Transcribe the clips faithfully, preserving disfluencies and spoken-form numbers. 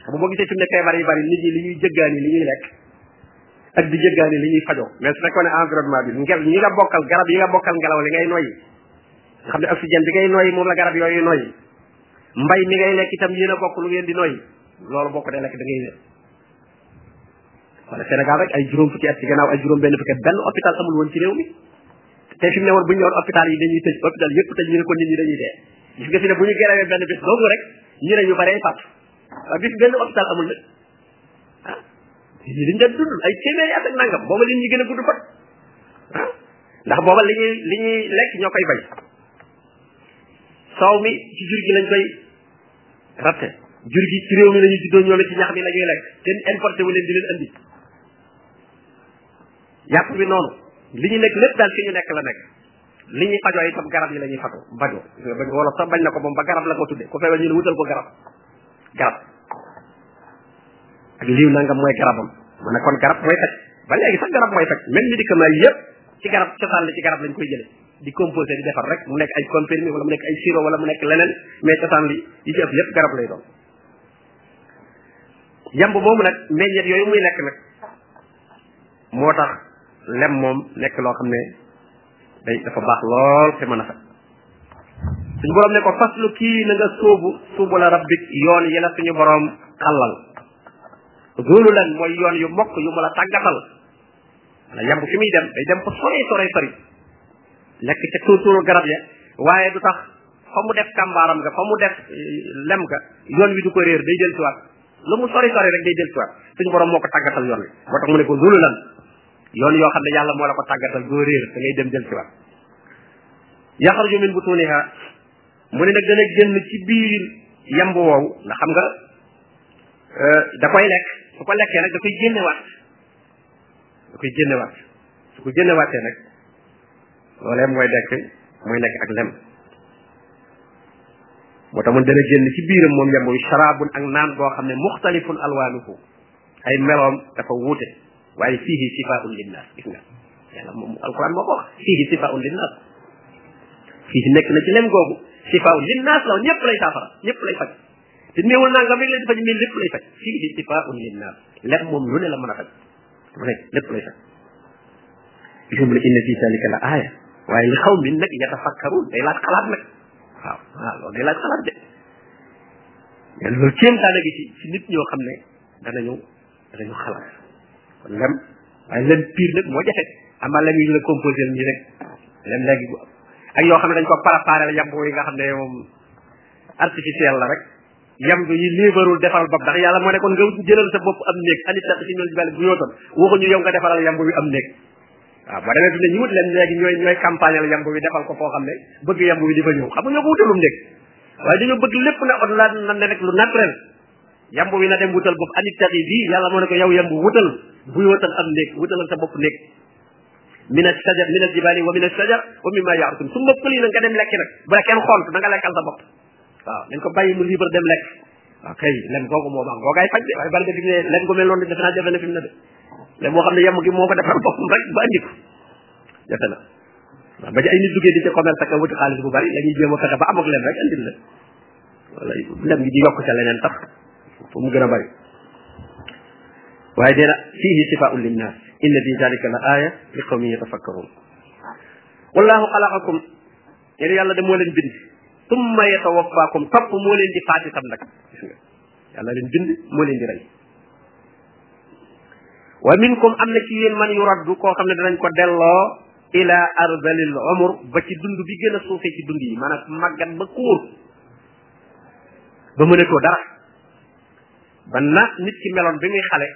xam boo gisee fi mu ne feebar yi bari nit ñi li ñuy jëggaani li ñuy lekk ak di jëggaani li ñuy fajoo mais su fekkoon ne environnement bi ngel ñi nga bokkal garab yi nga bokkal ngelaw li ngay noyyi nga xam ne oxygène bi ngay noyyi moom la garab yooyu noyyi mbay mi ngay lekk itam yéen a bokk lu ngeen di noyyi loolu bokk dee lekk da ngay wér wala Sénégal rek ay juróom fukki at ci gannaaw ay juróom benn fukki at benn hôpital amul woon ci réew mi te fi mu ne woon bu ñu ñëwoon hôpital yi dañuy tëj hôpital yëpp tëj ñu ne ko nit ñi dañuy dee gis nga fi ne bu ñu gerewee benn bés doogu rek ñu ne ñu baree fàtt waaw bis benn hôpital amul nag ah ñi dañ daan dund ay téeméeri at ak nangam booba li ñuy gën a gudd fan ah ndax booba li ñuy li ñuy lekk ñoo koy bay soow mi ci jur gi lañ koy ratte jur gi ci réew mi lañuy juddoo ñoom ci ñax mi la ñuy lekk kenn importé wu leen di leen andi yàpp bi noonu li ñu nekk lépp daal fi ñu nekk la nekk li ñuy fajoo itam garab yi la ñuy fatu bajo wala sax bañ na ko moom ba garab la ko tudde ku feebar ñu ne wutal ko garab garab ak liiw nangam mooy garabam mu ne kon garab mooy faj ba léegi sax garab mooy faj même médicament yi yëpp ci garab cosaan la ci garab lañ koy jële di composé di defar rek mu nekk ay comprimé wala mu nekk ay sirop wala mu nekk leneen mais cosaan li yi ci ëpp yëpp garab lay doon yamb moomu nag meññeet yooyu muy lekk nag moo tax lem moom nekk loo xam ne day dafa baax lool te mën a faj suñu borom ne ko faslu kii na nga sóobu suubu la rabbik yoon yi la suñu borom xallal loolu lan mooy yoon yu mokk yu mu la tàggatal wala yamb fi muy dem day dem fa sore sore sori lekk ca tóortóoru garab ya waaye du tax fa mu def kàmbaaram nga fa mu def lem ga yoon wi du ko réer day del siwaat lu mu sori sori rek day del siwaat suñu borom moo ko tàggatal yoon wi moo tax mu ne ko loolu lan yoon yoo xam ne yàlla moo la ko tàggatal doo réer da ngay dem del siwaat yaxarju min butuniha mu ne nag dana génn ci biir yamb woowu ndax xam nga da koy lekk su ko lekkee nag da koy génnewaat da koy génnewaat su ko génnewaatee nag loolee mooy dekk mooy nekk ak lem moo tax mun dana génn ci biiram moom yamb wi sharabun ak naan boo xam ne muxtalifun alwaanuhu ay meloom dafa wuute waaye fiihi sifaun linnaas gis nga yàlla moom alquran moo ko wax fiihi sifaun linnaas fiihi nekk na ci lem googu sifaun linnaas la ñëpp lay saafara ñëpp lay faj te néewul naa nga mi lay faj mais lépp lay faj fiihi sifaun linnaas lem moom lu ne la mën a faj lu ne lépp lay faj gis nga mu ne inna fi zalika la aaya waaye li xaw min nag yatafakkarun day laaj xalaat nag waaw waaw loolu day laaj xalaat de mais loolu kéemtaan gi ci ci nit ñoo xam ne danañu danañu xalaat kon lem waaye lem pire nag moo jafe amaa lem yi ñu la composé nii rek lem léegi ak yoo xam ne dañ ko préparé la yamb yi nga xam ne moom artificiel la rek yamb yi liibarul defaral bopp ndax yàlla moo ne kon nga jëlal sa bopp am néeg anit la si ñoom jibale bu yootoon waxuñu yow nga defaral yamb bi am néeg waaw boo demee fi ne ñu wut leen léegi ñooy ñooy campagne la yamb bi defal ko foo xam ne bëgg yamb bi di fa ñëw xam nga ñoo ko wutalum néeg waaye dañoo bëgg lépp na od la nan ne rek lu naturel yamb bi na dem wutal bopp anit taxi bii yàlla moo ne ko yow yamb wutal bu yootal am néeg wutalal sa bopp néeg min ash-shajar min al-jibali wa min ash-shajar wa mimma ya'rutun su mbëpp lii nag nga dem lekk nag bu la kenn xont da nga lekkal sa bopp waaw dañ ko bàyyi mu libre dem lekk waaw kay lem googu moo baax googaay faj de waaye bala nga dig ne lem gu mel noonu defe naa jafe na fi mu ne de lem moo xam ne yemb gi moo ko defal boppam rek ba andi ko jafe na waaw ba ci ay nit duggee di ca commerce ak wuti xaalis bu bari la ñuy jéem a fexe ba am ak lem rek andil la wala lem gi di yokk ca leneen tax fu mu gën a bari waaye dee na fiihi sifaa'un linnaas inna fi zalika la aaya li qawmin yatafakkarun wallahu xalaqakum yéen yàlla de moo leen bind tumma yatawaffakum topp moo leen di faat itam nag gis nga yàlla leen bind moo leen di rey wa minkum am na ci yéen man yuraddu koo xam ne danañ ko delloo ila ardalil umur ba ci dund bi gën a suufee ci dund yi maanaam màggat ba kuur ba mënatoo dara ba na nit ki meloon bi muy xale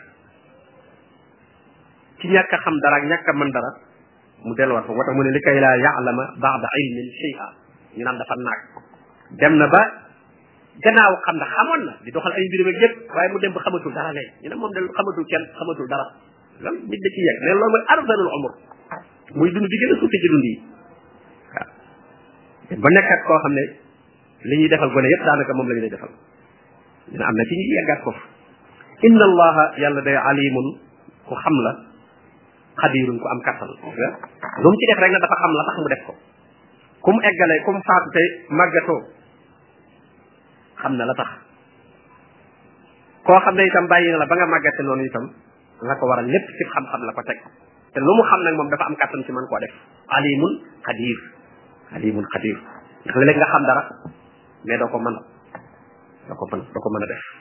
ci ñàkk a xam dara ak ñàkk a mën dara mu delluwaat fa moo tax mu ne li kay laa ya'lama ba'da ilmin shay'a ñu naan dafa naag dem na ba gannaaw xam na xamoon na di doxal ay mbirum ak yëpp waaye mu dem ba xamatul dara léegi ñu ne moom de xamatul kenn xamatul dara loolu nit da ci yegg mais loolu mooy arzalul umur muy dund bi gën a suufi ci dund yi waaw ba nekkat koo xam ne li ñuy defal gone yëpp daanaka moom la ñu lay defal ñu ne am na ci ñu yeggaat foofu inna allaha yàlla day alimun ku xam la xadirun ku am kattan lu mu ci def rek na dafa xam la tax mu def ko ku mu eggale ku mu faatu te màggatoo xam na la tax koo xam ne itam bàyyi na la ba nga màggate noonu itam la ko waral lépp ci xam-xam la ko teg te lu mu xam nag moom dafa am kàttan ci mën koo def alimun xadir alimun xadir ndax léeg nga xam dara mais doo ko mën doo ko mën doo ko mën a def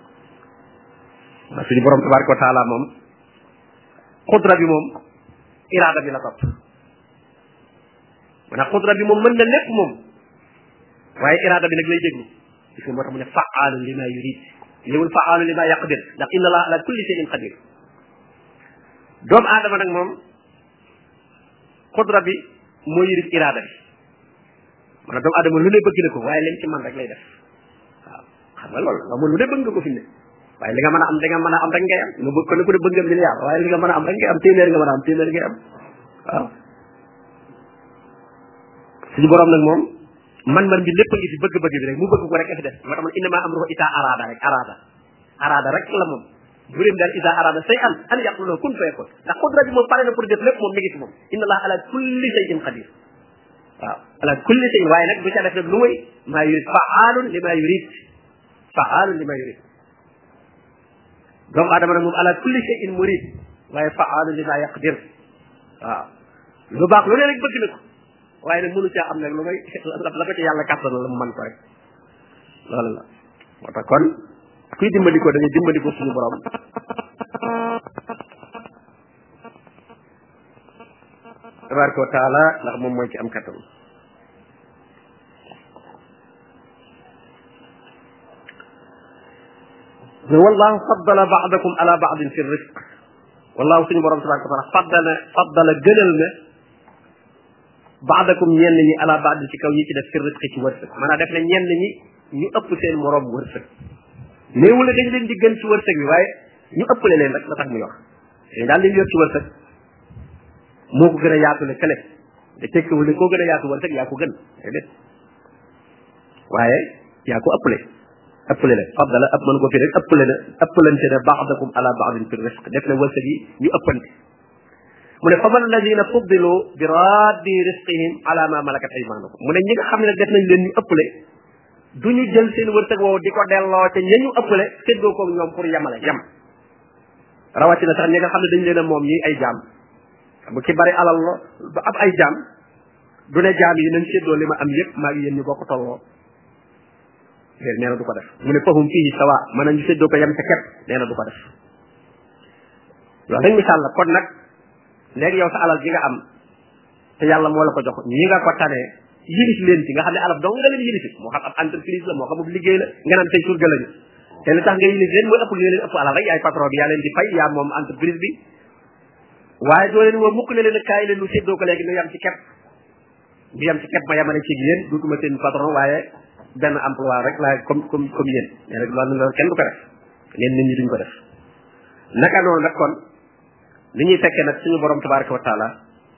wa suñu borom tabaraka wa taala moom xudra bi moom iraada bi la topp maanaam xudra bi moom mën na lépp moom waaye iraada bi nag lay déglu gis nga moo tax mu ne fa'aalun lima yurid liwul fa'aalun lima yaqdir ndax inna allaha ala kulli shay'in qadir doomu aadama nag moom xudra bi moo yërit iraada bi maanaam doomu aadama lu ne bëgg na ko waaye leen ci man rek lay def waaw xam nga loolu nga moom lu ne bëgg nga ko fi ne waaye li nga mën a am da nga mën a am rek ngay am nga bëgg ko ne ko ne bëgg nga milliard waaye li nga mën a am rek ngay am téeméer nga mën a am téeméer ngay am waaw suñu borom nag moom man-man bi lépp a ngi fi bëgg-bëgg bi rek mu bëgg ko rek a fi def moo tax man innama amruhu ita arada rek arada arada rek la moom bu leen daal ida arada say an an yaqulu kun fayakun ndax xudra bi moom pare na pour def lépp moom mi ngi ci moom inna allah ala kulli shay'in qadir waaw ala kulli shay'in waaye nag du ca def nag lu muy maa yurid fa'aalun lima yurid fa'aalun lima yurid doomu aadama nag moom ala kulli shay'in murid waaye fa'aalun lima yaqdir waaw lu baax lu ne rek bëgg na ko waaye nag mënu caa am nag lu may la ko ci yàlla kàttan la mu man ko rek loolu la moo tax kon kuy dimbali ko da ngay dimbali ko suñu borom tabaraka wa taala ndax moom mooy ci am kattan ne wallahu faddala ba'dakum ala ba'din fi rizq wallahu suñu borom tabaraka wa taala faddala faddala gënal na ba'dakum ñenn ñi ala ba'd ci kaw ñi ci def fi rizq ci wërsëg maanaam def na ñenn ñi ñu ëpp seen morom wërsëg néewu la dañ leen di gën ci wërsëg bi waaye ñu ëppale leen rek la tax muy wax dañ daal leen yor ci wërsëg moo ko gën a yaatu le kële te tekkiwul ne koo gën a yaatu wërsëg yaa ko gën déedéet waaye yaa ko ëppale ëppale la faddala ëpp mën ko fi rek ëppale na ëppalante na ba'dakum ala ba'din fi rizq def na wërsëg yi ñu ëppante mu ne faman alladina fuddilu bi raddi rizqihim ala ma malakat aymanukum mu ne ñi nga xam ne nag def nañ leen ñu ëppale du ñu jël seen wërsëg woowu di ko delloo te ña ñu ëppale séddoo ko ñoom pour yemale yem rawatina sax ñi nga xam ne dañ leen a moom ñi ay jaam bu ki bari alal la ba ab ay jaam du ne jaam yi nañ séddoo li ma am yëpp maa ngi yéen ñu bokk tolloo léer nee na du ko def mu ne fahum fihi sawa mën nañu séddoo ko yem sa kepp nee na du ko def loolu dañ misaal la kon nag léegi yow sa alal ji nga am te yàlla moo la ko jox ñi nga ko tanee yilif leen ci nga xam ne alal dong nga leen yilif moo xam ab entreprise la moo xam ab liggéey la nga naan tey surga lañu te li tax nga yilif leen mooy ëpp nga leen ëpp alal rek yaay patron bi yaa leen di fay yaa moom entreprise bi waaye doo leen woo mukk ne leen kaay leen lu séddoo ko léegi nu yam ci kepp du yam ci kepp ma yamane ci yéen duutuma seen patron waaye benn emploi rek laa comme comme comme yéen mais rek loolu loolu kenn du ko def leen nit ñi duñ ko def naka noonu nag kon li ñuy fekkee nag suñu borom tabaraka wa taala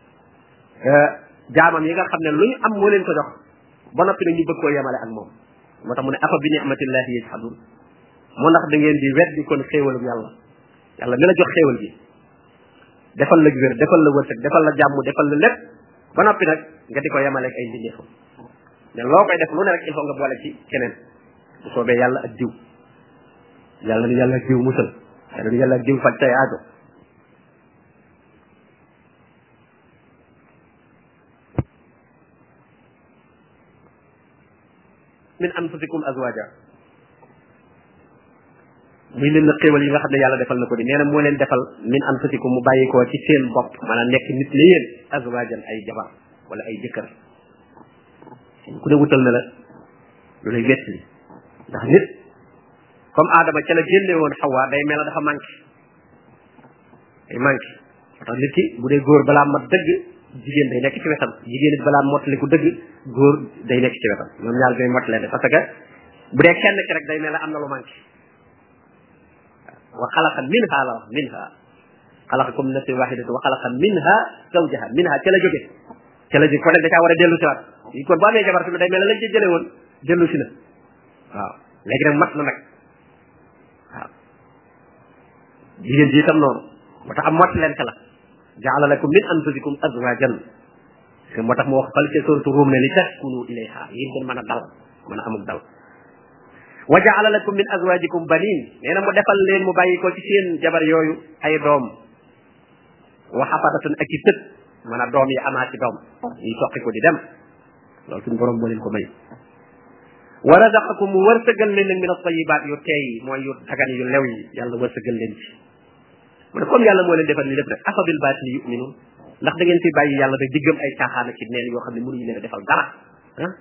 jaamam yi nga xam ne lu ñu am moo leen ko jox ba noppi nag ñu bëgg koo yemale ak moom moo tax mu ne afa bi ni'matillahi yajhadun moo ndax da ngeen di weddi kon xéewalum yàlla yàlla mi la jox xéewal gi defal la wér defal la wërsëg defal la jàmm defal la lépp ba noppi nag nga di ko yemale ak ay mbindeefam mais loo koy def lu ne rek il faut nga boole ci keneen bu soobee yàlla ak diw yàlla ni yàlla ak diw musal yàlla ni yàlla ak diw faj tay aajo min anfusikum azwaja muy leen na xéewal yi nga xam ne yàlla defal na ko di nee na moo leen defal min anfusikum mu bàyyi ko ci seen bopp maanaam nekk nit la yéen azwajan ay jabar wala ay jëkkër ku ne wutal na la lu lay wettali ndax nit comme aadama ca la génne woon xawaa day mel na dafa manqué day manqué moo tax nit ki bu dee góor balaa mat dëgg jigéen day nekk ci wetam jigéen it balaa mottali ku dëgg góor day nekk ci wetam ñoom ñaar day mottale parce que bu dee kenn ki rek day mel ne am na lu manqué wa xalaqa minha la wax minha xalaqakum min nafsin wahidatin wa xalaqa minha zawjaha minha ca la jóge ca la jóge kon nag da caa war a dellu si waat yi kon boo amee jabar tamit day mel ne lañ ci jële woon dellu si na waaw léegi nag mat na nag waaw jigéen ji itam noonu moo tax am mottalente la jaala lakum min anfusikum azwajan moo tax mu wax fal ca suratu Rum ne li taskunu ilayha yéen ngeen mën a dal mën a amuk dal wa jaala lakum min azwajikum banin nee na mu defal leen mu bàyyi ko ci seen jabar yooyu ay doom wa xafadatun ak i sët mën a doom yi amaa ci doom yi soqi ko di dem loolu suñu borom moo leen ko may wa razaqakum mu wërsëgal leen nag min at-tayyibaat yu teey mooy yu dagan yu lew yi yàlla wërsëgal leen ci mu ne comme yàlla moo leen defal ni lépp rek afa bil baatili yu'minuun ndax da ngeen fi bàyyi yàlla rek di gëm ay caaxaan ak ci neen yoo xam ne mënuñu leen a defal dara ah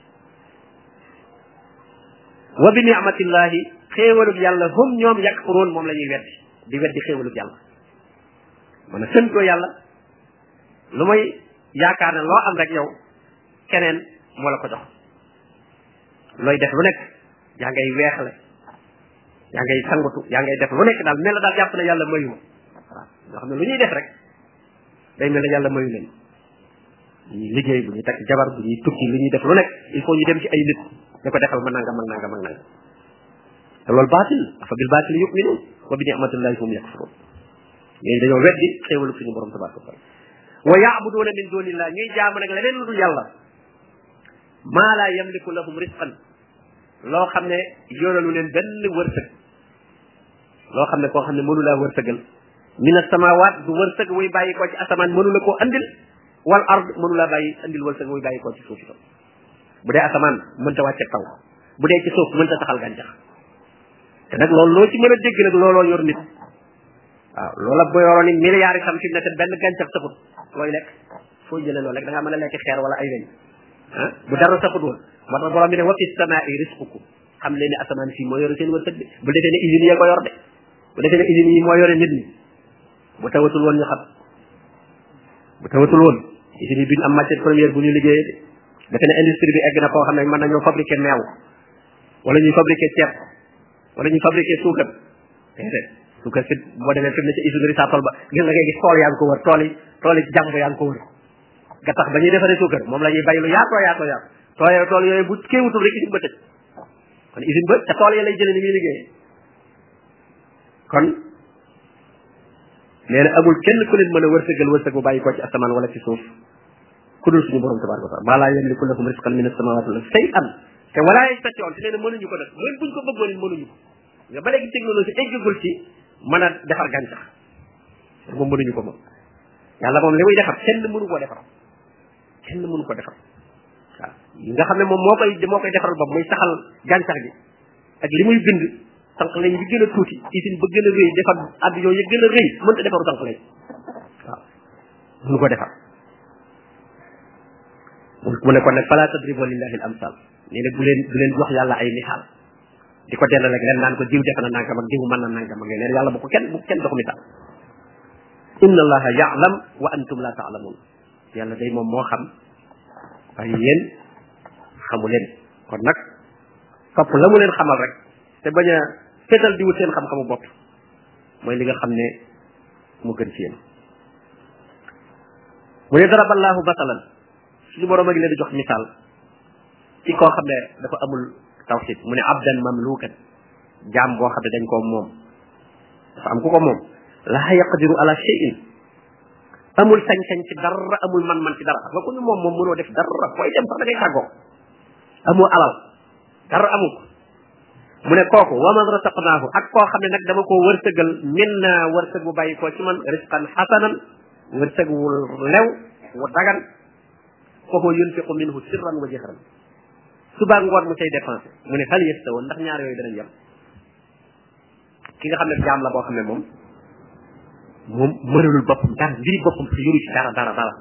wa bi ni'matillahi xéewalub yàlla hum ñoom yakfuruun moom la ñuy weddi di weddi xéewalub yàlla mën a sëntoo yàlla lu may yaakaar ne loo am rek yow keneen moo la ko jox looy def lu nekk yaa ngay weexle yaa ngay sangutu yaa ngay def lu nekk daal mel na daal jàpp ne yàlla mayu ma waaw ñoo xam ne lu ñuy def rek day mel ne yàlla mayu leen ñuy liggéey bu ñuy takk jabar bu ñuy tukki lu ñuy def lu nekk il faut ñu dem ci ay nit ñu ko defal ma nangam ak nangam ak nangam te loolu baatil afa bil baatil yu'minuun wa bi ni'matillahi hum yakfuruun ñooñu dañoo weddi xéewalu suñu borom tabaraka wa taala wa ya'buduuna min duunillah ñuy jaamu nag leneen lu dul yàlla maa laa yamliku lahum rizqan loo xam ne yoralu leen benn wërsëg loo xam ne koo xam ne mënu laa wërsëgal min as-samaawaat du wërsëg wuy bàyyi koo ci asamaan mënu la koo andil wal ard mënu laa bàyyi andil wërsëg wuy bàyyi koo ci suuf itam bu dee asamaan mënta wàcce taw bu dee ci suuf mënta taxal gàncax te nag loolu loo ci mën a dégg nag looloo yor nit waaw loola bu yoroon ni milliards itam fi mu ne te benn gàncax saxut looy lekk foo jëlee loolu rek da ngaa mën a lekk xeer wala ay weñ ah bu dara saxut woon moo tax borom bi ne wa fi samaa'i rizqukum xam leen ne asamaan fii moo yore seen wërsëg bi bu defee ne usines yi ko yor de bu defee ne usines yi moo yore nit ñi bu tawatul woon ñu xam bu tawatul woon usines yi duñ am matière première bu ñu liggéeyee de defe ne industrie bi egg na koo xam ne mën nañoo fabriquer meew wala ñuy fabriquer ceeb wala ñuy fabriquer suukar déedéet suukar fi boo demee fi mu ne ci usine Richard-Toll ba gis nga ngay gis tool yaa ngi ko wër tool yi tool yi jàmb yaa ngi ko wër ga tax ba ñuy defaree suukar moom la ñuy bay lu yaatoo yaatoo yaatoo tool tool yooyu bu kéewutul rek usine ba tëj kon usine ba te tool ya lay jëlee ni muy liggéeyee kon nee na amul kenn ku leen mën a wërsëgal wërsëg bu bàyyi ko ci asamaan wala ci suuf ku dul suñu borom tabaraka wa taala maa laa yamliku lahum rizqan min as-samawati wal ardi shay'an te walaa yastati'un te nee na mënuñu ko def mooy buñ ko bëggoon it mënuñu ko nga ba léegi technologie eggagul ci mën a defar gàncax moom mënuñu ko moom yàlla moom li muy defar kenn mënu koo defar kenn mënu ko defar waaw yi nga xam ne moom moo koy moo koy defaral bopp muy saxal gàncax gi ak li muy bind sànq lañ bi gën a tuuti usine ba gën a rëy defar avion yi gën a rëy mënta defaru sànq lañ waaw mënu ko defar mu ne kon nag fala tadribu lillahi al amsal nee na bu leen bu leen jox yàlla ay misaal di ko delloo rek leen naan ko diw def na nangam ak diw mën na nangam ak leen yàlla bu ko kenn bu ko kenn jox misaal inna allaha ya'lam wa antum la ta'lamun yàlla day moom moo xam waaye yéen xamu leen kon nag topp la mu leen xamal rek te bañ a fetal di wut seen xam-xamu bopp mooy li nga xam ne mu gën ci yéen mu ne daraballahu masalan suñu borom a ngi leen di jox misaal ci koo xam ne dafa amul tawxid mu ne abdan mamlukan jaam boo xam ne dañ koo moom dafa am ku ko moom laa yaqdiru ala shay'in amul sañ-sañ ci dara amul man-man ci dara nga ko ñu moom moom mënoo def dara fooy dem sax da ngay tàggoo amoo alal dara amul ko mu ne kooku wa man rasaqnaahu ak koo xam ne nag dama koo wërsëgal min na wërsëg bu bàyyi koo ci man risqan xasanan wërsëg wu lew wu dagan foofu yunfiqu minhu sirran wa jahran suba ngoon mu cay dépensé mu ne hal yastawoon ndax ñaar yooyu danañ yem ki nga xam ne jaam la boo xam ne moom moom mënalul boppam dara mbiri boppam si yoru ci dara dara dara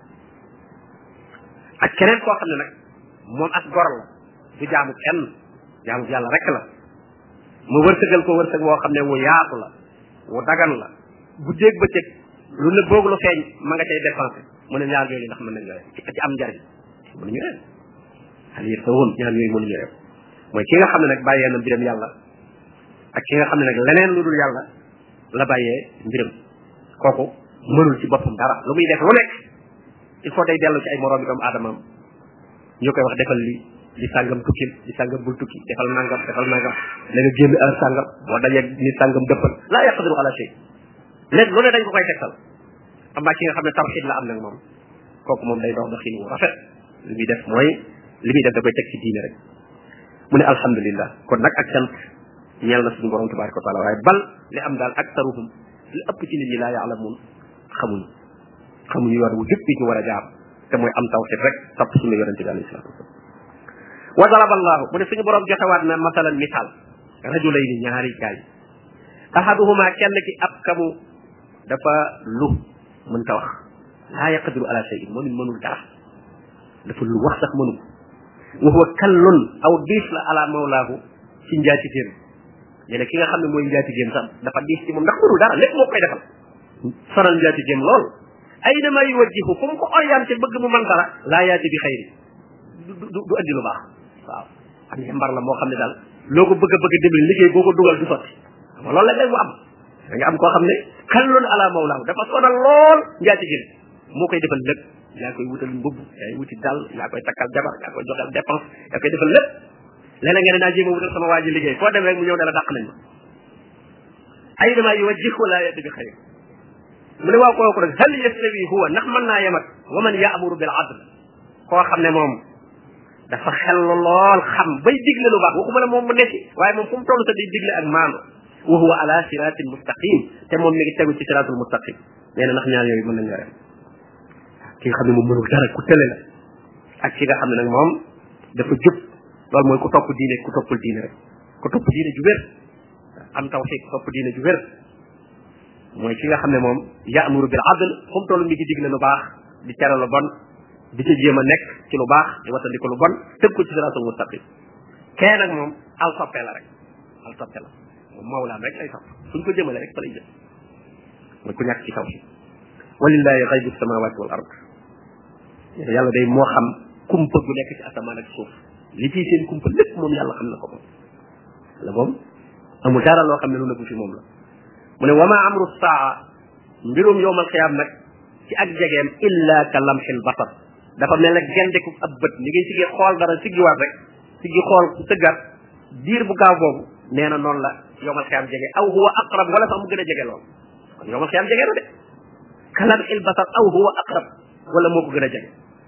ak keneen koo xam ne nag moom as gor la du jaamu kenn jaamu yàlla rek la mu wërsëgal ko wërsëg woo xam ne wu yaatu la wu dagan la bu jéeg ba cëg lu ne boog lu feeñ ma nga cay dépensé mu ne ñaar yooyu ndax mën nañ ci ci am njariñ mënuñu rew xal yër sa woon ñaar yooyu mënuñu rew mooy ki nga xam ne nag bàyyee na mbiram yàlla ak ki nga xam ne nag leneen lu dul yàlla la bàyyee mbiram kooku mënul ci boppam dara lu muy def lu nekk il faut day dellu ci ay moroomi doomu aadamaam ñu koy wax defal li di sàngam tukkil di sàngam bul tukki defal nangam defal nangam la nga génn heure sàngam boo dajee ni sàngam dëppal laa yaqdiru ala shay léegi lu ne dañ ko koy tegtal am ki nga xam ne tawhid la am nag moom kooku moom day dox doxin wu rafet li muy def mooy li muy def da koy teg ci diine rek mu ne alhamdulillah kon nag ak sant ñeel na suñu borom tabaraka wa taala waaye bal li am daal aktaruhum li ëpp ci nit ñi laa yaalamun xamuñu xamuñu yoon wu jub bi ñu war a jaar te mooy am tawxid rek topp suñu yonente bi alayhi salatu wasalam wa daraba allahu mu ne suñu borom joxewaat na masalan misaal rajulayni ñaari gaay ahaduhuma kenn ki ab kamu dafa lu mën ta wax laa yaqdiru ala shay'in moom it mënul dara dafa lu wax sax mënu wa huwa kallun aw diis la ala mawlaahu ci njaatigéem léeg ki nga xam ne mooy njaatigéem sax dafa diis ci moom ndax mënul dara lépp moo koy defal sonal njaatigéem lool ay dama yuwajjihu fu mu ko orienté bëgg mu mën dara laa yaati bi xayri du du du andi lu baax waaw am yambar la moo xam ne daal loo ko bëgg a bëgg a dimbali liggéey boo ko dugal du sotti xam nga loolu la léegi mu am da nga am koo xam ne kallun ala mawlaahu dafa sonal lool njaatigéem moo koy defal lépp yaa koy wutal mbubb yaa wuti dal yaa koy takkal jabar yaa koy joxal dépense yaa koy defal lépp léeg-léeg nga ne naa jéem a wutal sama waa ji liggéey foo dem rek mu ñëw ne la dàq nañ ma ay dama yuwajjihu wala yati bi xayr mu ne waaw kooku rek hal yastawi huwa ndax mën naa yem ak wa man yaamuru bil adl koo xam ne moom dafa xel lool xam bay digle lu baax waxuma la moom mu nekk waaye moom fu mu toll sa di digle ak maanu wa huwa ala siratin mustaqim te moom mi ngi tegu ci siratul mustaqim nee na ndax ñaar yooyu mën nañ yore ki nga xam ne moom mënul dara ku tële la ak ki nga xam ne nag moom dafa jub loolu mooy ku topp diine ku toppul diine rek ku topp diine ju wér am tawxiid topp diine ju wér mooy ki nga xam ne moom yaamuru bil adl fu mu toll mi ngi digle lu baax di tere lu bon di ca jéem a nekk ci lu baax di watandiko lu bon tëb ko ci siraatul mustaqim kee nag moom al soppe la rek al soppe la moom mawlaam rek lay sopp suñ ko jëmale rek fa lay jëm mooy ku ñàkk ci tawxiid walillahi xaybu samawati wal ard yàlla day moo xam kumpa gu nekk ci asamaan ak suuf li ciy seen kumpa lépp moom yàlla xam na ko moom la moom amul dara loo xam ne lu nëbbu fi moom la mu ne wama amru saa mbirum yowmal xiyaam nag ci ak jegeem illa ka lamxil basar dafa mel ne gendeku ab bët ni ngay siggi xool dara siggiwaat rek siggi xool sëggaat diir bu gaaw boobu nee na noonu la yowmal xiyaam jege aw huwa aqrab wala sax mu gën a jege lool kon yowmal xiyaam jege na de ka lamxil basar aw huwa aqrab wala moo ko gën a jege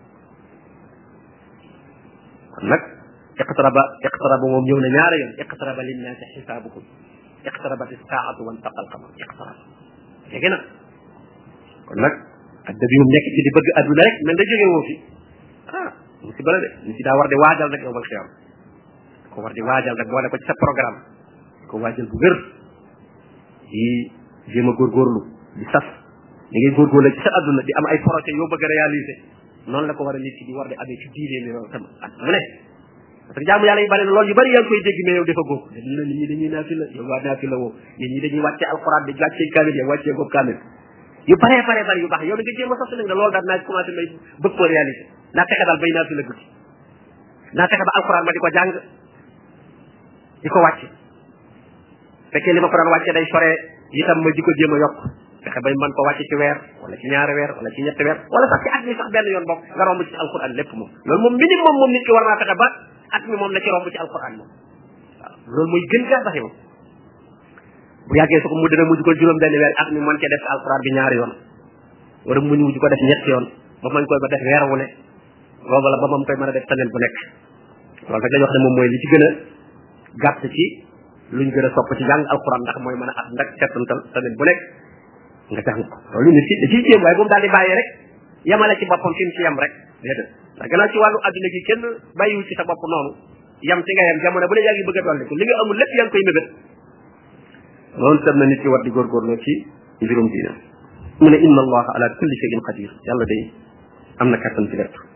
kon nag iqtaraba iqtaraba moom ñëw na ñaari yoon iqtaraba linnaasi xisaabukum iqtarabat as-saa'atu wa intaqa al-qamar iqtaraba jege na kon nag adda bi moom nekk ci di bëgg adduna rek mel da jóge woo fi ah musiba la de ni si daa war di waajal rek yowmal xiyaam ko war di waajal rek boole ko ci sa programme ko waajal bu wér di jéem a góorgóorlu di sas ni ngay góorgóorlu ci sa adduna di am ay projet yoo bëgg a réaliser noonu la ko war a nit ki di war di amee ci diine mi loolu tam at mu ne parce que jaamu yàlla yu bari loolu yu bari yaa ngi koy dégg mais yow dafa góob dañu la nit ñi dañuy naafi la yow waa naafi la woo nit ñi dañuy wàcce alxuraan di wàcce kaamil yow wàcce boobu kaamil yu bare bare bari yu baax yow da nga jéem a sos nag ne loolu daal naa commencé may bëgg koo réaliser naa fexe daal bay naafi la guddi naa fexe ba alxuraan ma di ko jàng di ko wàcce fekkee li ma ko daan wàcce day sore itam ma di ko jéem a yokk fexe bay mën ko wàcce ci weer wala ci ñaari weer wala ci ñetti weer wala sax ci at mi sax benn yoon bokk nga romb ci alxuraan lépp moom loolu moom minimum moom nit ki war naa fexe ba at mi moom na ci romb ci alxuraan moom waaw loolu mooy gën gaa sax yow bu yàggee su ko mu dina mujj ko juróom benn weer at mi mën cee def alxuraan bi ñaari yoon wala mu mujj ko def ñetti yoon ba mañ koy ba def weer wu ne boobu la ba moom koy mën a def semaine bu nekk loolu rek dañu wax ne moom mooy li ci gën a gàtt ci luñ gën a sopp ci jàng alxuraan ndax mooy mën a at ndax settantal semaine bu nekk nga jàng ko loolu nit ki da ciy jéem waaye bu mu daal di bàyyi rek yemale ci boppam fi mu ci yem rek déedéet ndax gannaaw ci wàllu adduna gi kenn bàyyiwu ci sa bopp noonu yam ci nga yem jamono bu ne yaa ngi bëgg a dolli ko li nga amul lépp yaa ngi koy mébét loolu tam na nit ki war di góorgóorloo ci mbirum diina mu ne inna allaha ala kulli shay'in qadir yàlla day am na kattan ci lépp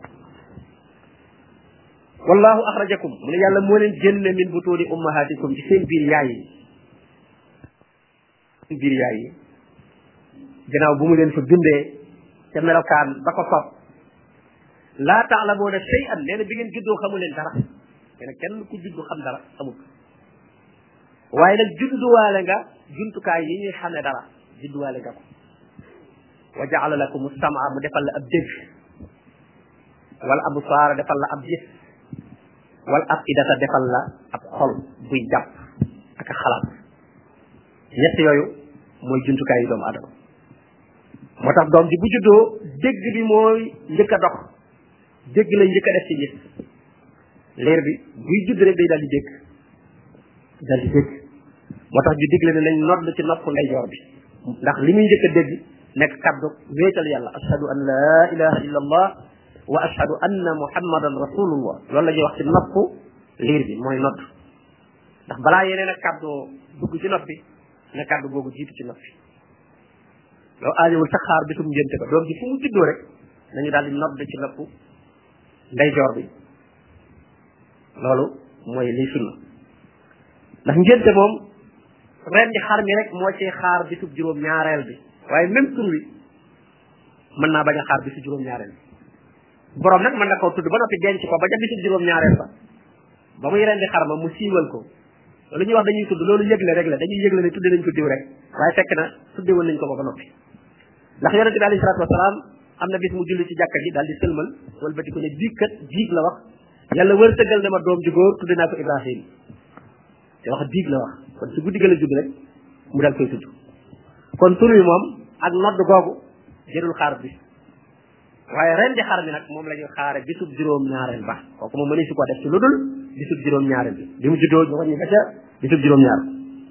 wallahu axrajakum mu ne yàlla moo leen génne min butuuni ummahatikum ci seen biir yaay yi seen biir yaay yi gannaaw bu mu leen fa bindee ca melokaan ba ko sopp laa taalamuuna shay'an nee na bi ngeen juddoo xamu leen dara nee na kenn ku juddu xam dara amul waaye nag judduwaale nga jumtukaay yi ñuy xamee dara judduwaale nga ko wa jaala lakum as-sam'a mu defal la ab dégg wala absaara defal la ab gis wal afidata defal la ab xol buy jàpp ak a xalaat ñett yooyu mooy jumtukaay yi doomu adama moo tax doom ji bu juddoo dégg bi mooy njëkk a dox dégg la njëkk a def ci gis leer bi buy judd rek day daal di dégg daal di dégg moo tax ñu digle ne nañ nodd ci nopp ndeyjoor bi ndax li muy njëkk a dégg nekk kaddu wéetal yàlla ashhadu an la ilaha illa allah wa ashhadu anna muhammadan rasulullah loolu la ñuy wax ci nopp liir bi mooy nodd ndax balaa yeneen ak kaddu dugg ci nopp bi na kaddu googu jiitu ci nopp bi loolu aajowul sax xaar bisum ngénte ba doom ji fu mu juddoo rek nañu daal di nodd ci nopp ndeyjoor bi loolu mooy liy sunna ndax ngénte moom ren di xar mi rek moo ci xaar bisub juróom ñaareel bi waaye même tur wi mën naa bañ a xaar bisu juróom ñaareel bi borom nag mën na koo tudd ba noppi denc ko ba ca bisub juróom ñaareel ba ba muy ren di xar ma mu siiwal ko loolu ñuy wax dañuy tudd loolu yëgle rek la dañuy yëgle ne tudde nañ ko diw rek waaye fekk na tudde woon nañ ko ba ba noppi ndax yonente bi alayhi salaatu wasalaam am na bis mu julli ci jàkka ji daal di sëlmal wala bati ko ne biig kat biig la wax yàlla wërsëgal ne ma doom ju góor tudde naa ko Ibrahim te wax biig la wax kon su guddi ga la judd rek mu dal koy tudd kon tur wi moom ak nodd googu jërul xaar bis waaye ren di xar mi nag moom la ñuy xaare bisub juróom ñaareel ba kooku moom mënees su ko def ci lu dul bisub juróom ñaareel bi bi mu juddoo ñu wàññi ba ca bisub juróom ñaar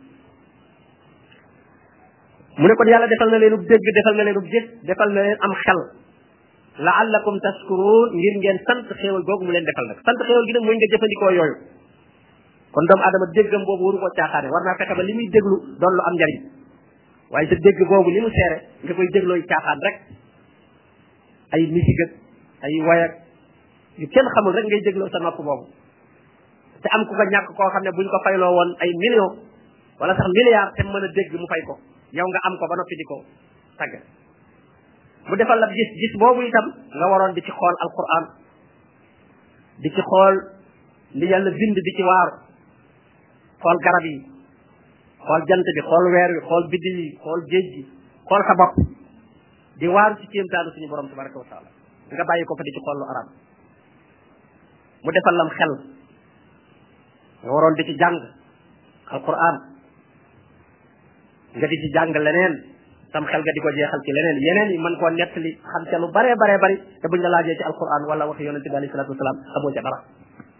mu ne kon yàlla defal na leenub dégg defal na leenub gis defal na leen am xel la'allakum tashkurun ngir ngeen sant xéewal googu mu leen defal nag sant xéewal gi nag mooy nga jëfandikoo yooyu kon doomu adama déggam boobu waru ko caaxaane war naa fexe ba li muy déglu doon lu am njariñ waaye sa dégg boobu li mu seere nga koy déglooy caaxaan rek ay musique ak ay wayak yu kenn xamul rek ngay dégloo sa nopp boobu te am ku ko ñàkk koo xam ne buñ ko fayloo woon ay millions wala sax milliards te mën a dégg mu fay ko yow nga am ko ba noppi di ko tagg mu defal la gis gis boobu itam nga waroon di ci xool alquran di ci xool li yàlla bind di ci waaru xool garab yi xool jant bi xool weer wi xool biddi yi xool géej gi xool sa bopp di waaru ci kéemtaanu suñu borom tabaraka wa taala nga bàyyi ko fa di ci xool lu arab mu defal lam xel nga waroon di ci jàng alquran nga di ci jàng leneen sam xel nga di ko jeexal ci leneen yeneen yi mën koo nettali xam ca lu bare bare bari te buñ la laajee ci alquran wala waxi yonente bi alayhi salatu wasalaam xamoo ca dara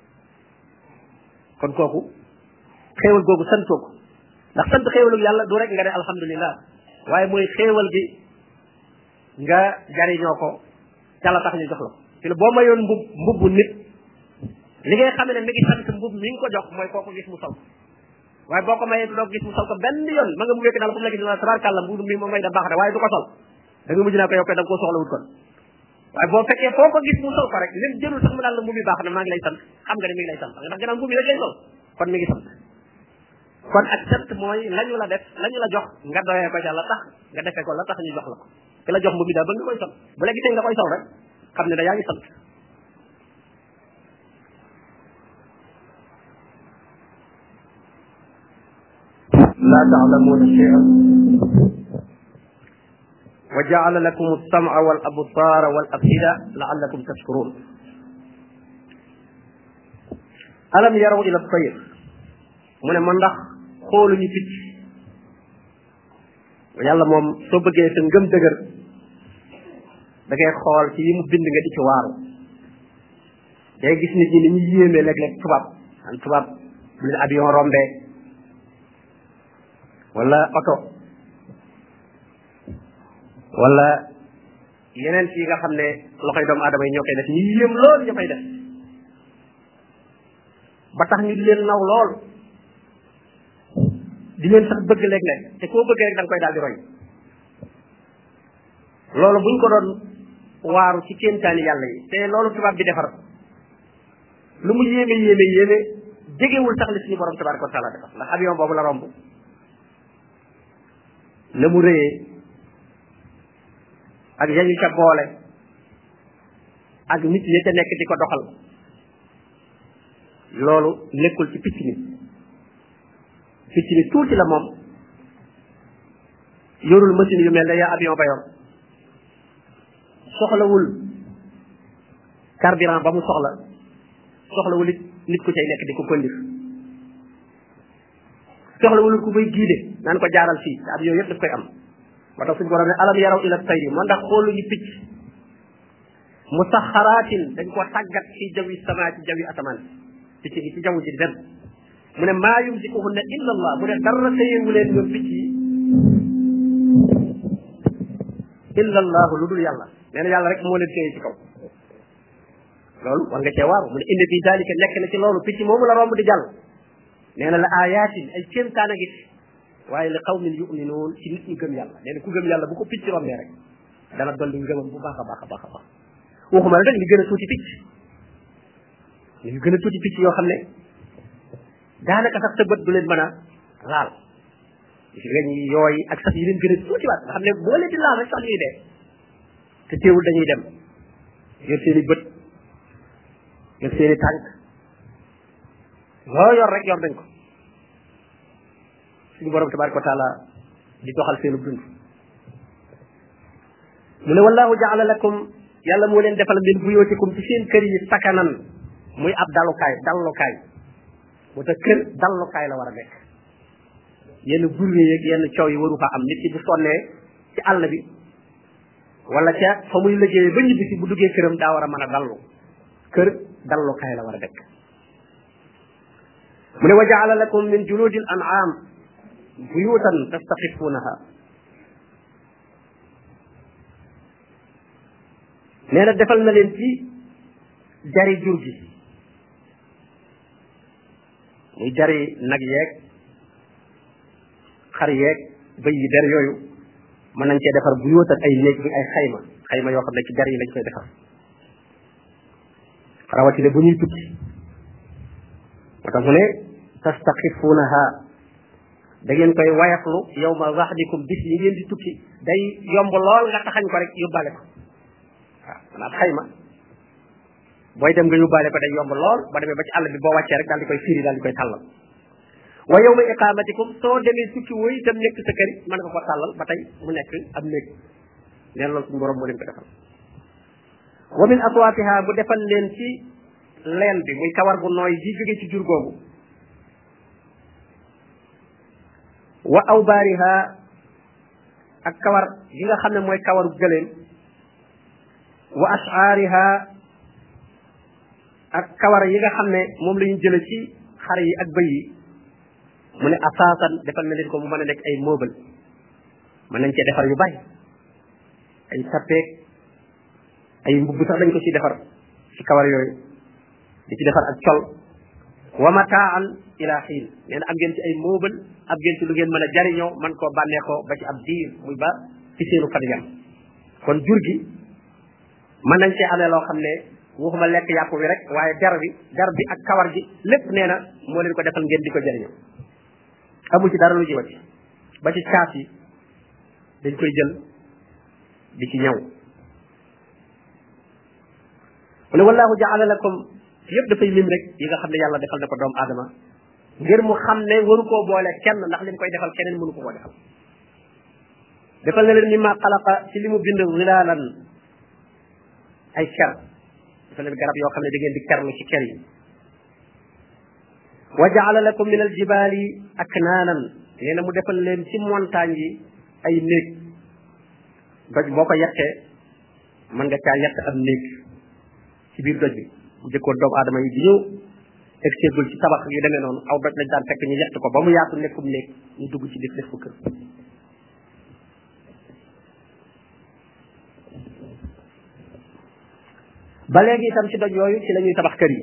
kon kooku xéewal googu santoo ko ndax sant xéewalu yàlla du rek nga ne alhamdulillah waaye mooy xéewal gi nga jariñoo ko ca la tax ñu jox la ko ci la boo mayoon mbub mbubbu nit li ngay xamee ne mi ngi sant mbub mi nga ko jox mooy kooku gis mu sol waaye boo ko mayee doo gis mu sol ko benn yoon ma nga mu wékk daal fu mu la gis na tabarkàlla mbub mi moom may da baax de waaye du ko sol da nga mujj naa ko yow koy da nga koo soxla wut kon waaye boo fekkee foo ko gis mu sol ko rek lim jëlul sax mu daal la mbub mi baax na maa ngi lay sant xam nga ne mi ngi lay sant ndax gannaaw mbub mi rek lay sol kon mi ngi sant kon ak sant mooy lañu la def lañu la jox nga doyee ko ca la tax nga defee ko la tax ñu jox la ko ki la jox mbub mi daal ba nga koy sol bu la gisee nga koy sol rek xam ne da yaa ngi sant la ta'lamuna shay'an wa ja'ala lakum as-sam'a wal absara wal af'ida la'allakum tashkurun alam yaraw ila at-tayr mu ne ma ndax xooluñu picc yàlla moom soo bëggee sa ngëm dëgër da ngay xool ci yi mu bind nga di ci waaru day gis nit ñi ni ñu yéemee léeg-léeg tubaab an tubaab bu leen avion rombee wala oto wala yeneen ci nga xam ne loxoy doomu aadama yi ñoo koy def ñu yéem lool ñu koy def ba tax ñu di leen naw lool di leen sax bëgg léeg-léeg te koo bëgg rek da nga koy daal di roy loolu buñ ko doon waaru ci kéemtaani yàlla yi te loolu tubaab bi defar lu mu yéeme yéeme yéeme jegewul sax li suñu borom tabaraka wa taala defar ndax avion boobu la romb na mu rëyee ak yañu ca boole ak nit ñi ca nekk di ko doxal loolu nekkul ci picc mi picc mi tuuti la moom yorul machine yu mel ne yaa avion ba yor soxlawul carburant ba mu soxla soxlawul it nit ku cay nekk di ko kondir soxlawul ku koy giide naan ko jaaral fii te avion yëpp daf koy am moo tax suñu borom ne alam yaraw ila tayri moo ndax xooluñu picc musaxaraatin dañ ko tàggat fi jawi sama ci jawi asamaan picc yi ci jaww ji di dem mu ne maa yumsikuhunna illa allah mu ne dara téyewu leen ñoom picc yi illa allahu lu dul yàlla nee na yàlla rek moo leen téye ci kaw loolu war nga cee waaru mu ne inna fi dalika nekk na ci loolu picc moomu la romb di jàll nee na la ayatin ay kéemtaan a ngi ci waaye li qawmin yuminuun ci nit ñi gëm yàlla nee na ku gëm yàlla bu ko picc rombee rek dana dolli ngëmam bu baax a baax a baax a baax waxuma la rek li gën a tuuti picc li gën a tuuti picc yoo xam ne daanaka sax sa bët du leen mën a laal si weñ yi yooyu ak sax yi leen gën a tuuti waat nga xam ne boo leen di laal rek sax ñuy dee te teewul dañuy dem yor seen i bët yor seen i tànk loo yor rek yor nañ ko suñu borom tabaraka wa taala di doxal seenu dund mu ne wallahu jaala lakum yàlla moo leen defal min buyootikum ci seen kër yi sakanan muy ab dalukaay dallukaay moo tax kër dallukaay la war a nekk yenn burwe yeeg yenn coow yi waru fa am nit ki bu sonnee ci àll bi wala ca fa muy liggéeyee ba ñibbi si bu duggee këram daa war a mën a dallu kër dallukaay la war a nekk mu ne wa jaala lakum min juludil an'am buyutan tastaxifuunaha nee na defal na leen ci jari jur gi muy jari nag yeeg xar yeeg bëy yi der yooyu mën nañ cee defar bu yóotal ay néeg bi ay xayma xayma yoo xam ne ci jar yi lañ koy defar rawatina bu ñuy tukki moo tax mu ne tastaxifuunaha da ngeen koy wayaflu yawma wahdikum bis yi ngeen di tukki day yomb lool nga taxañ ko rek yóbbaale ko waaw maanaam xayma booy dem nga yóbbaale ko day yomb lool ba demee ba ci àll bi boo wàccee rek daal di koy firi daal di koy tàllal wa yawma iqamatikum soo demee tukki woy itam nekk sa kër mën nga ko tàllal ba tey mu nekk am néeg neen loolu suñu borom moo leen ko defal wa min aswaatiha bu defal leen ci leen bi muy kawar gu nooy ji jóge ci jur googu wa awbaariha ak kawar gi nga xam ne mooy kawaru gëléem wa ashaariha ak kawar yi nga xam ne moom la ñu jële ci xar yi ak bëy yi mu ne asaasan defal na leen ko mu mën a nekk ay meuble mën nañ cee defar yu bari ay sappeek ay mbubb sax dañ ko ci defar ci kawar yooyu di ci defar ak col wa mataan ila xiin nee na am ngeen ci ay meuble am ngeen ci lu ngeen mën a jariñoo man koo bànneexoo ba ci ab diir muy ba ci seenu fan yam kon jur gi mën nañ cee amee loo xam ne waxuma lekk yàpp bi rek waaye der bi der bi ak kawar gi lépp nee na moo leen ko defal ngeen di ko jariñoo amul ci dara lu jiwati ba ci caas yi dañ koy jël di ci ñëw mu ne wallahu jaala lakum yëpp dafay lim rek yi nga xam ne yàlla defal na ko doomu aadama ngir mu xam ne waru koo boole kenn ndax li mu koy defal keneen mënu ko koo defal defal na leen mimma xalaqa ci li mu bind zilaalan ay ker defal leen garab yoo xam ne da ngeen di kerlu ci ker yi wa jaala lakum min aljibaali aknaanan nee na mu defal leen ci montagne yi ay néeg doj boo ko yettee mën nga caa yett am néeg ci biir doj bi bu jëkkoon doomu aadama yi di ñëw egseegul ci tabax yu demee noonu aw doj lañ daan fekk ñu yett ko ba mu yaatu nekkum néeg ñu dugg ci def def ko kër ba léegi itam ci doj yooyu ci la ñuy tabax kër yi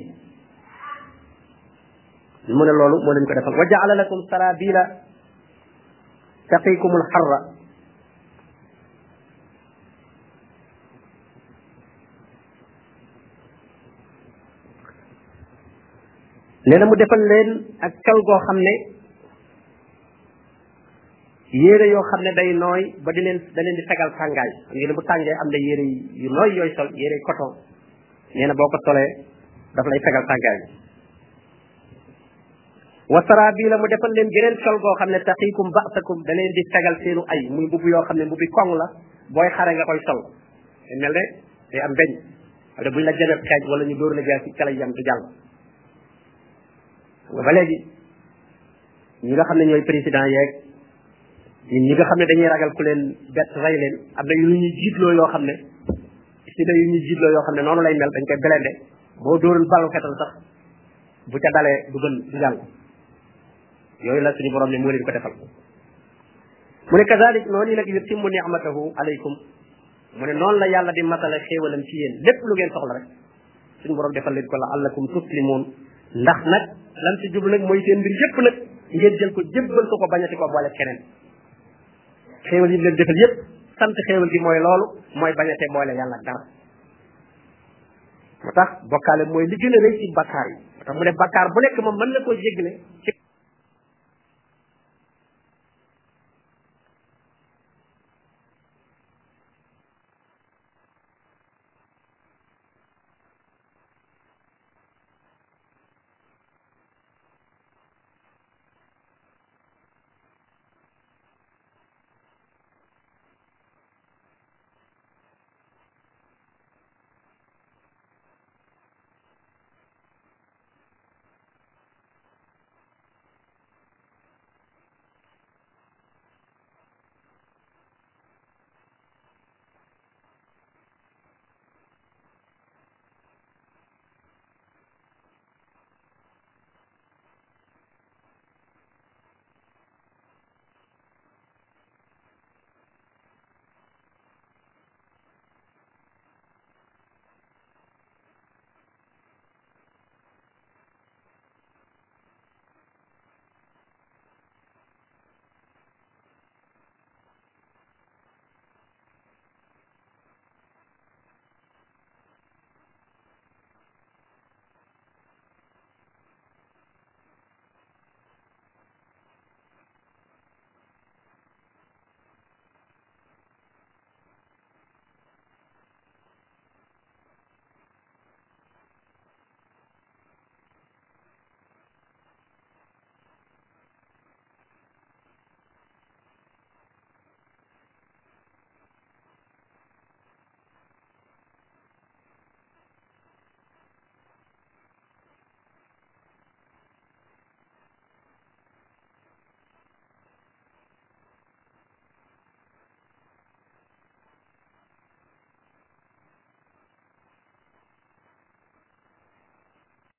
mu ne loolu moo leen ko defal wa jaala lakum sarabila taqikumul xarra nee na mu defal leen ak kal goo xam ne yére yoo xam ne day nooy ba di leen da leen di fegal tàngaay xam ngeen ne bu tàngee am na yére yu nooy yooyu sol yére coton nee na boo ko solee daf lay fegal tàngaay wa sarabila mu defal leen geneen sol goo xam ne taqikum ba'sakum da leen di fegal seenu ay muy mbubb yoo xam ne mbubbi koŋ la booy xare nga koy sol mel ne day am beñ wala buñ la jëmee xeej wala ñu dóor la jaar ci kala yam du jàll ba léegi ñi nga xam ne ñooy président yeeg ñun ñi nga xam ne dañuy ragal ku leen bett rey leen am na yu ñuy jiitloo yoo xam ne si na yu ñuy jiitloo yoo xam ne noonu lay mel dañ koy belende boo dóorul balu fetal sax bu ca dalee du gën du jàll yooyu la suñu borom ne moo leen ko defal mu ne kazalik noonu nag yutimmu ni'matahu alaykum mu ne noonu la yàlla di matale xéewalam ci yéen lépp lu ngeen soxla rek suñu borom defal leen ko la allakum tuslimun ndax nag lan ci jublu nag mooy seen mbir yépp nag ngeen jël ko jébbal ko ko bañati ko boole keneen xéewal yi leen defal yépp sant xéewal gi mooy loolu mooy bañate boole yàlla dara moo tax bokkaale mooy li gën a rëy ci bakkaar yi moo tax mu ne bakkaar bu nekk moom mën na koo jégle ci